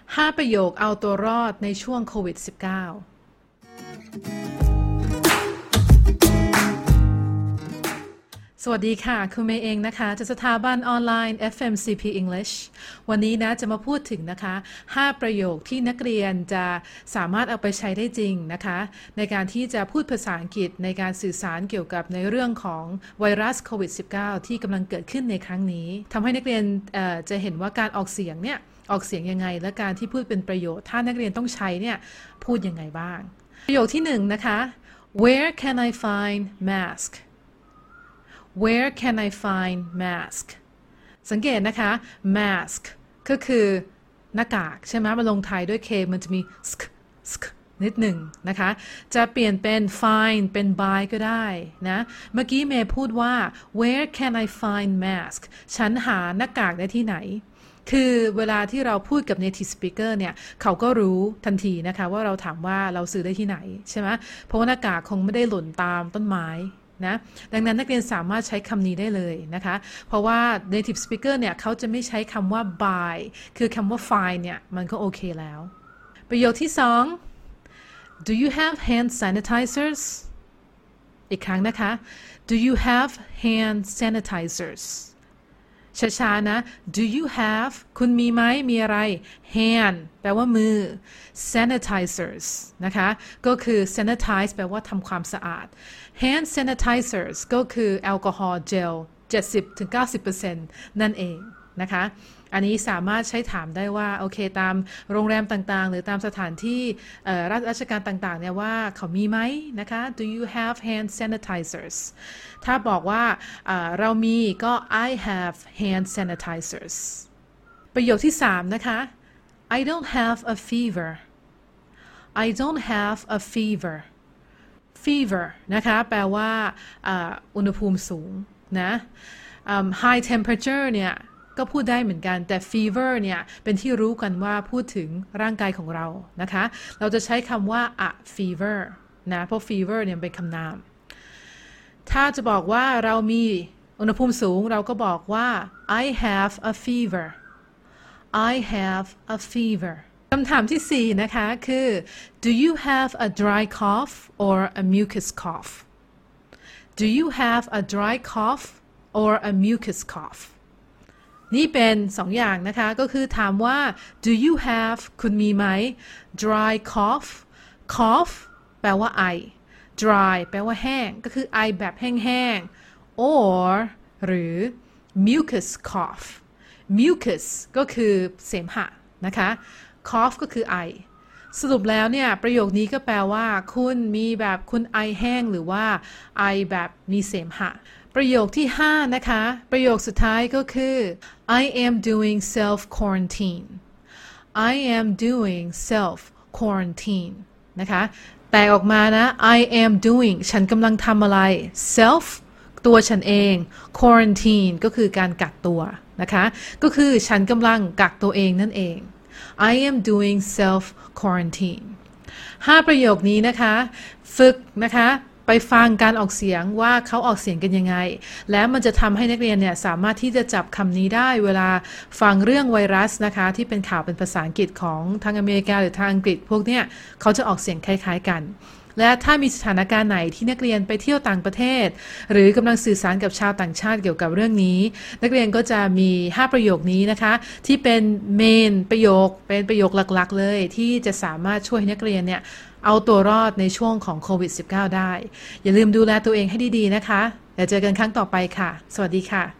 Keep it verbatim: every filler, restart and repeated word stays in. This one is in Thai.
ห้าประโยคเอาตัวรอดในช่วงโควิด สิบเก้า สวัสดีค่ะคุณเมย์เองนะคะจากสถาบันออนไลน์ เอฟ เอ็ม ซี พี English วันนี้นะจะมาพูดถึงนะคะห้าประโยคที่นักเรียนจะสามารถเอาไปใช้ได้จริงนะคะในการที่จะพูดภาษาอังกฤษในการสื่อสารเกี่ยวกับในเรื่องของไวรัสโควิด สิบเก้า ที่กำลังเกิดขึ้นในครั้งนี้ทำให้นักเรียนจะเห็นว่าการออกเสียงเนี่ยออกเสียงยังไงและการที่พูดเป็นประโยชน์ถ้านักเรียนต้องใช้เนี่ยพูดยังไงบ้างประโยคที่หนึ่งนะคะ Where can I find mask Where can I find mask สังเกตนะคะ mask ก็คือหน้ากากใช่ไหมมาลงท้ายด้วย K มันจะมี sk sk นิดหนึ่งนะคะจะเปลี่ยนเป็น find เป็น buy ก็ได้นะเมื่อกี้เมย์พูดว่า Where can I find mask ฉันหาหน้ากากได้ที่ไหนคือเวลาที่เราพูดกับ native speaker เนี่ยเขาก็รู้ทันทีนะคะว่าเราถามว่าเราซื้อได้ที่ไหนใช่ไหมเพราะว่าหน้ากากคงไม่ได้หล่นตามต้นไม้นะดังนั้นนักเรียนสามารถใช้คำนี้ได้เลยนะคะเพราะว่า native speaker เนี่ยเขาจะไม่ใช้คำว่า buy คือคำว่า find เนี่ยมันก็โอเคแล้วประโยคที่สอง Do you have hand sanitizers อีกครั้งนะคะ Do you have hand sanitizers ช้าๆนะ Do you have คุณมีไหมมีอะไร hand แปลว่ามือ sanitizers นะคะก็คือ sanitize แปลว่าทำความสะอาด hand sanitizers ก็คือแอลกอฮอล์เจล เจ็ดสิบถึงเก้าสิบเปอร์เซ็นต์ นั่นเองนะคะอันนี้สามารถใช้ถามได้ว่าโอเคตามโรงแรมต่างๆหรือตามสถานที่ราชการต่างๆเนี่ยว่าเขามีไหมนะคะ Do you have hand sanitizers ถ้าบอกว่าเรามีก็ I have hand sanitizers ประโยคที่สามนะคะ I don't have a fever I don't have a fever fever นะคะแปลว่าอุณหภูมิสูงนะ high temperature เนี่ยก็พูดได้เหมือนกันแต่ fever เนี่ยเป็นที่รู้กันว่าพูดถึงร่างกายของเรานะคะเราจะใช้คำว่า a fever นะเพราะ fever เนี่ยเป็นคำนามถ้าจะบอกว่าเรามีอุณหภูมิสูงเราก็บอกว่า I have a fever I have a fever คำถามที่สี่นะคะคือ Do you have a dry cough or a mucus cough Do you have a dry cough or a mucus coughนี่เป็นสองอย่างนะคะก็คือถามว่า do you have คุณมีไหม dry cough cough แปลว่าไอ dry แปลว่าแห้งก็คือไอแบบแห้งๆ or หรือ mucus cough mucus ก็คือเสมหะนะคะ cough ก็คือไอสรุปแล้วเนี่ยประโยคนี้ก็แปลว่าคุณมีแบบคุณไอแห้งหรือว่าไอแบบมีเสมหะประโยคที่ห้านะคะประโยคสุดท้ายก็คือ I am doing self quarantine I am doing self quarantine นะคะแต่ออกมานะ I am doing ฉันกำลังทำอะไร self ตัวฉันเอง quarantine ก็คือการกักตัวนะคะก็คือฉันกำลังกักตัวเองนั่นเอง I am doing self quarantine ห้าประโยคนี้นะคะฝึกนะคะไปฟังการออกเสียงว่าเขาออกเสียงกันยังไงและมันจะทำให้นักเรียนเนี่ยสามารถที่จะจับคำนี้ได้เวลาฟังเรื่องไวรัสนะคะที่เป็นข่าวเป็นภาษาอังกฤษของทางอเมริกาหรือทางอังกฤษพวกเนี้ยเขาจะออกเสียงคล้ายๆกันและถ้ามีสถานการณ์ไหนที่นักเรียนไปเที่ยวต่างประเทศหรือกำลังสื่อสารกับชาวต่างชาติเกี่ยวกับเรื่องนี้นักเรียนก็จะมีห้าประโยคนี้นะคะที่เป็นเมนประโยคเป็นประโยคหลักๆเลยที่จะสามารถช่วยให้นักเรียนเนี่ยเอาตัวรอดในช่วงของโควิด สิบเก้า ได้อย่าลืมดูแลตัวเองให้ดีๆนะคะเดี๋ยวเจอกันครั้งต่อไปค่ะสวัสดีค่ะ